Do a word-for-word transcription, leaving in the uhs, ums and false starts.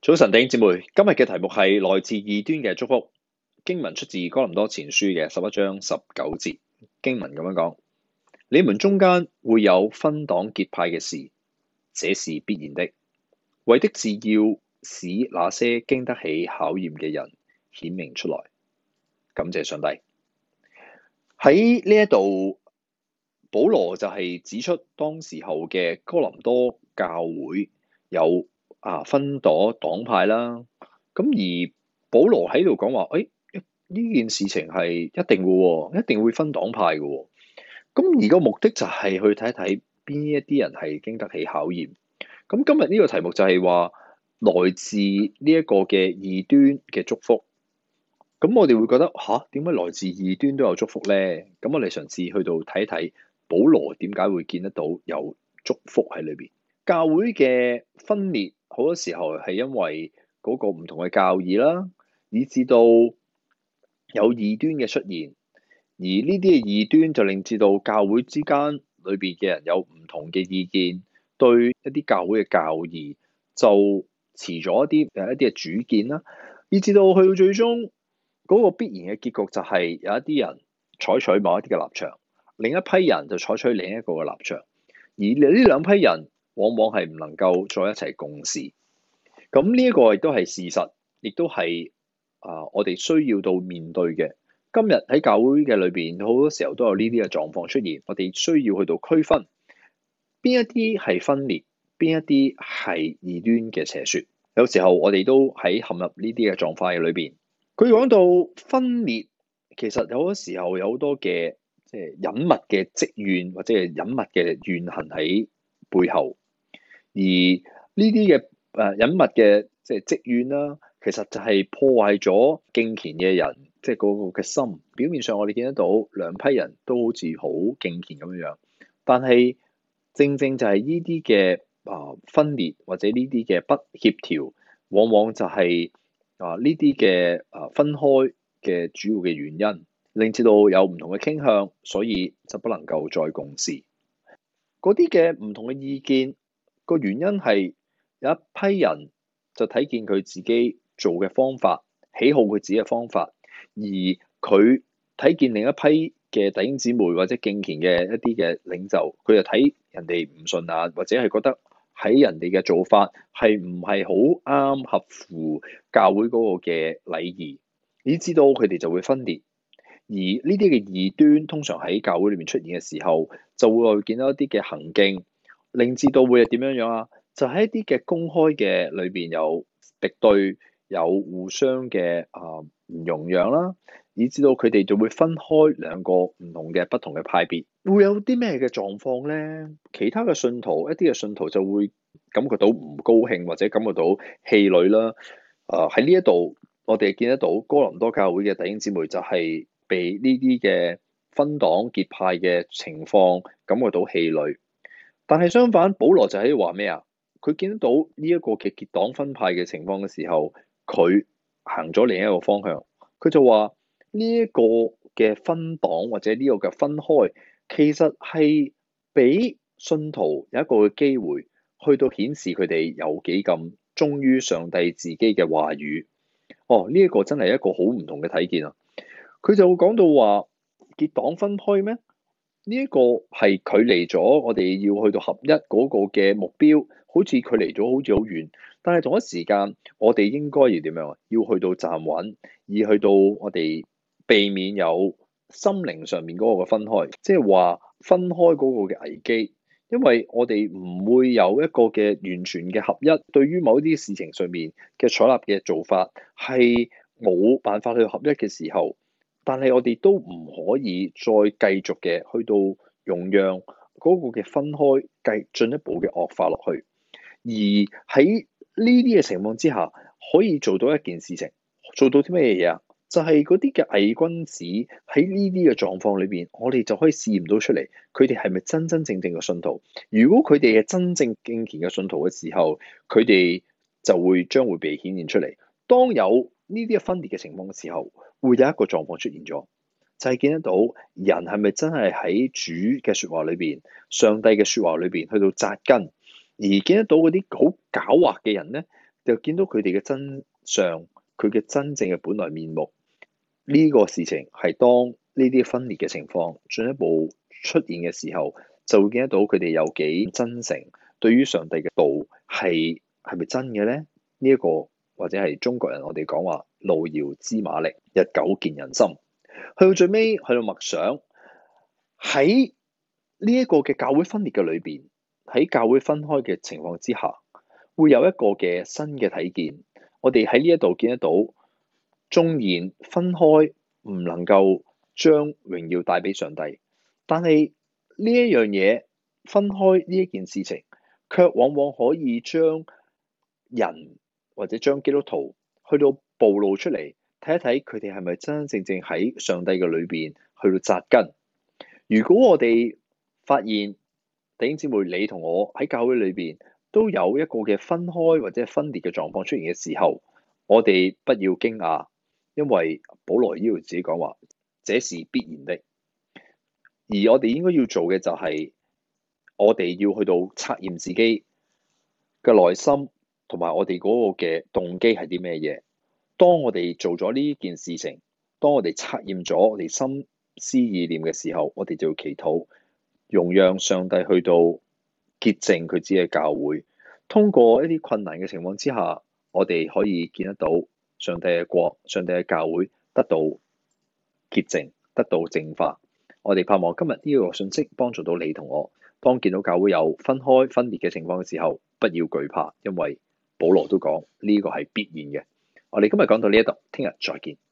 早晨，弟兄姊妹，今日嘅題目係來自異端嘅祝福。經文出自哥林多前書嘅十一章十九節。經文咁樣講：你們中間會有分黨結派嘅事，這是必然的，為的是要使那些經得起考驗嘅人顯明出來。感謝上帝。喺呢一度，保羅就係指出當時候嘅哥林多教會有啊分黨黨派啦。咁而保羅喺度講話，誒、哎、呢件事情係一定嘅，一定會分黨派嘅。咁而個目的就係去睇一睇邊一啲人係經得起考驗。咁今日呢個題目就係話來自呢一個嘅異端嘅祝福。咁我哋會覺得吓，點解來自異端都有祝福咧？咁我哋嘗試去到睇一睇保羅點解會見得到有祝福喺裏邊。教會嘅分裂好多時候係因為嗰個唔同嘅教義啦，以至到有異端嘅出現，而呢啲嘅異端就令至到教會之間裏邊嘅人有唔同嘅意見，對一啲教會嘅教義就持咗一啲誒一啲嘅主見啦，以至到去到最終嗰個必然嘅結局就係有一啲人採取某一啲嘅立場，另一批人就採取另一個嘅立場，而呢兩批人往往係唔能夠再一齊共事。咁呢一個亦都係事實，亦都係啊我哋需要到面對嘅。今日喺教會嘅裏邊，好多時候都有呢啲嘅狀況出現，我哋需要去到區分邊一啲係分裂，邊一啲係異端嘅邪說。有時候我哋都喺陷入呢啲嘅狀況嘅裏邊。佢講到分裂，其實有好多時候有好多嘅即係隱密嘅積怨，或者係隱密嘅怨恨喺背後。而呢啲嘅誒隱密嘅即係積怨啦，其實就係破壞咗敬虔嘅人，即係嗰個嘅心。表面上我哋見得到兩批人都好似好敬虔咁樣樣，但係正正就係呢啲嘅啊分裂或者呢啲嘅不協調，往往就係、是。啊！呢啲嘅啊分開嘅主要嘅原因，令至到有唔同嘅傾向，所以就不能夠再共事。嗰啲嘅唔同嘅意見，個原因係有一批人就睇見佢自己做嘅方法，喜好佢自己嘅方法，而佢睇見另一批嘅弟兄姊妹或者敬虔嘅一啲嘅領袖，佢就睇人哋唔順眼，或者係覺得喺人哋嘅做法係唔係好啱合乎教會嗰個嘅禮儀，以至到佢哋就會分裂。而呢啲嘅異端通常喺教會裏面出現嘅時候，就會見到一啲嘅行徑，令至到會係點樣樣啊？就喺一啲嘅公開嘅裏邊有敵對，有互相嘅啊唔容讓啦，以至到佢哋就會分開兩個唔同嘅不同嘅派別。會有啲咩嘅狀況咧？其他嘅信徒，一啲嘅信徒就會感覺到唔高興，或者感覺到氣餒啦。啊喺呢一度，我哋見得到哥林多教會嘅弟兄姊妹就係被呢啲嘅分黨結派嘅情況感覺到氣餒。但係相反，保羅就喺度話咩啊？佢見得到呢一個嘅結黨分派嘅情況嘅時候，佢行咗另一個方向。佢就話呢一個嘅分黨或者呢個嘅分開，其實係俾信徒有一個嘅機會，去到顯示佢哋有幾咁忠於上帝自己嘅話語。哦，呢、這、一個真係一個好唔同嘅睇見啊！佢就會講到話結黨分開咩？呢、這、一個係距離咗我哋要去到合一嗰個嘅目標，好似距離咗好似好遠。但係同一時間，我哋應該要點樣啊？要去到站穩，而去到我哋避免有心靈上面嗰個嘅分開，即係話分開嗰個嘅危機。因為我哋唔會有一個嘅完全嘅合一，對於某啲事情上面嘅採納嘅做法係冇辦法去合一嘅時候，但係我哋都唔可以再繼續嘅去到容讓嗰個嘅分開繼進一步嘅惡化落去。而喺呢啲嘅情況之下，可以做到一件事情，做到啲咩嘢啊？就係嗰啲嘅偽君子喺呢啲嘅狀況裏邊，我哋就可以試驗到出嚟，佢哋係咪真真正正嘅信徒？如果佢哋係真正敬虔嘅信徒嘅時候，佢哋就會將會被顯現出嚟。當有呢啲嘅分裂嘅情況嘅時候，會有一個狀況出現咗，就係見得到人係咪真係喺主嘅説話裏邊、上帝嘅説話裏邊去到紮根，而見得到嗰啲好狡猾嘅人咧， 就見到佢哋嘅真相，佢嘅真正嘅本來面目。呢個事情係當呢啲分裂嘅情況進一步出現嘅時候，就會見得到佢哋有幾真誠，對於上帝嘅道係係咪真嘅咧？呢一個或者係中國人我哋講話路遙知馬力，日久見人心。去到最尾，去到默想喺呢一個嘅教會分裂嘅裏邊，喺教會分開嘅情況之下，會有一個嘅新嘅體驗。我哋喺呢一度見得到，縱然分開唔能夠將榮耀帶俾上帝，但係呢一樣嘢分開呢一件事情，卻往往可以將人或者將基督徒去到暴露出嚟，睇一睇佢哋係咪真真正正喺上帝嘅裏邊去到扎根。如果我哋發現弟兄姊妹你同我喺教會裏邊都有一個嘅分開或者分裂嘅狀況出現嘅時候，我哋不要驚訝，因為保羅呢度自己講話，這是必然的。而我哋應該要做嘅就係，我哋要去到測驗自己嘅內心，同埋我哋嗰個嘅動機係啲咩嘢。當我哋做咗呢件事情，當我哋測驗咗我哋心思意念嘅時候，我哋就要祈禱，容讓上帝去到潔淨佢自己嘅教會。通過一啲困難嘅情況之下，我哋可以見得到上帝嘅國、上帝嘅教會得到潔淨、得到淨化。我哋盼望今日呢個信息幫助到你同我。當見到教會有分開分裂嘅情況嘅時候，不要懼怕，因為保羅都講呢個係必然嘅。我哋今日講到呢一度，聽日再見。